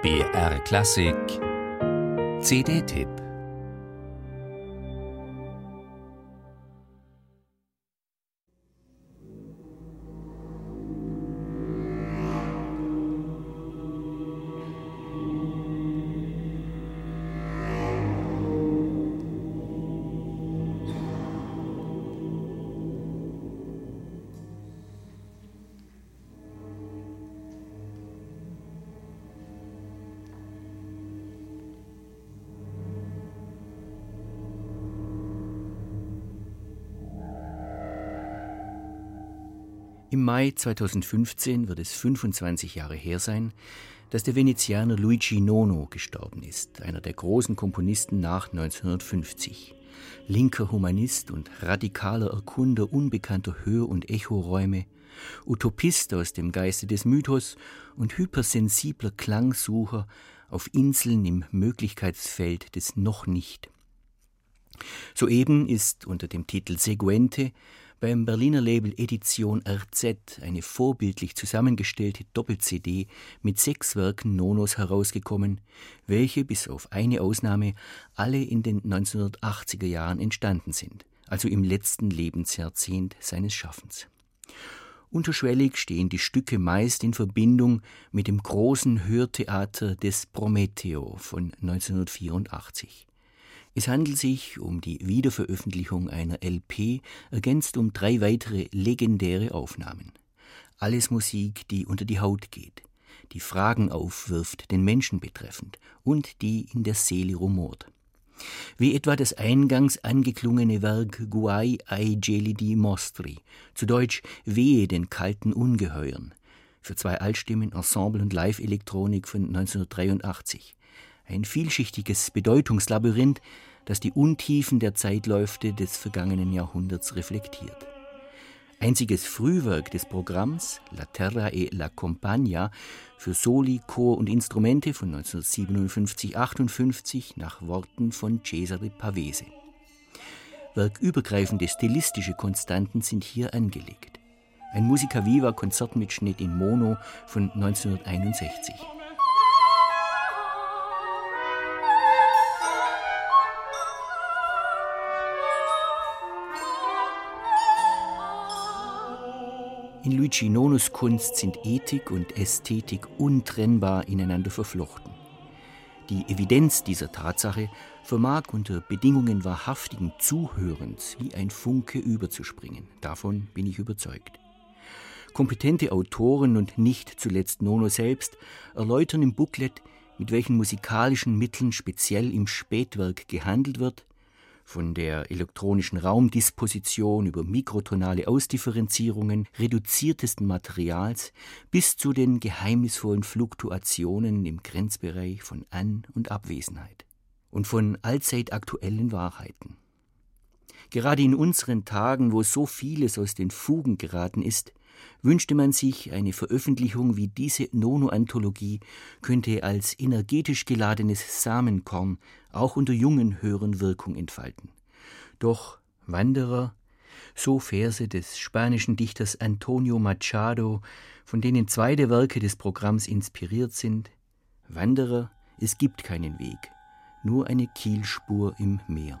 BR Klassik CD-Tipp. Im Mai 2015 wird es 25 Jahre her sein, dass der Venezianer Luigi Nono gestorben ist, einer der großen Komponisten nach 1950. Linker Humanist und radikaler Erkunder unbekannter Hör- und Echoräume, Utopist aus dem Geiste des Mythos und hypersensibler Klangsucher auf Inseln im Möglichkeitsfeld des Noch-Nicht. Soeben ist unter dem Titel Seguente beim Berliner Label Edition RZ eine vorbildlich zusammengestellte Doppel-CD mit 6 Werken Nonos herausgekommen, welche bis auf eine Ausnahme alle in den 1980er Jahren entstanden sind, also im letzten Lebensjahrzehnt seines Schaffens. Unterschwellig stehen die Stücke meist in Verbindung mit dem großen Hörtheater des Prometeo von 1984. Es handelt sich um die Wiederveröffentlichung einer LP, ergänzt um 3 weitere legendäre Aufnahmen. Alles Musik, die unter die Haut geht, die Fragen aufwirft, den Menschen betreffend und die in der Seele rumort. Wie etwa das eingangs angeklungene Werk Guai ai gelidi mostri, zu Deutsch Wehe den kalten Ungeheuern, für 2 Altstimmen, Ensemble und Live-Elektronik von 1983. Ein vielschichtiges Bedeutungslabyrinth, das die Untiefen der Zeitläufe des vergangenen Jahrhunderts reflektiert. Einziges Frühwerk des Programms, La Terra e la Compagna, für Soli, Chor und Instrumente von 1957-58 nach Worten von Cesare Pavese. Werkübergreifende stilistische Konstanten sind hier angelegt. Ein Musica Viva Konzertmitschnitt in Mono von 1961. In Luigi Nonos Kunst sind Ethik und Ästhetik untrennbar ineinander verflochten. Die Evidenz dieser Tatsache vermag unter Bedingungen wahrhaftigen Zuhörens wie ein Funke überzuspringen. Davon bin ich überzeugt. Kompetente Autoren und nicht zuletzt Nono selbst erläutern im Booklet, mit welchen musikalischen Mitteln speziell im Spätwerk gehandelt wird, von der elektronischen Raumdisposition über mikrotonale Ausdifferenzierungen reduziertesten Materials bis zu den geheimnisvollen Fluktuationen im Grenzbereich von An- und Abwesenheit und von allzeit aktuellen Wahrheiten. Gerade in unseren Tagen, wo so vieles aus den Fugen geraten ist, wünschte man sich, eine Veröffentlichung wie diese Nono-Anthologie könnte als energetisch geladenes Samenkorn auch unter jungen Hörern Wirkung entfalten. Doch Wanderer, so Verse des spanischen Dichters Antonio Machado, von denen 2 der Werke des Programms inspiriert sind: Wanderer, es gibt keinen Weg, nur eine Kielspur im Meer.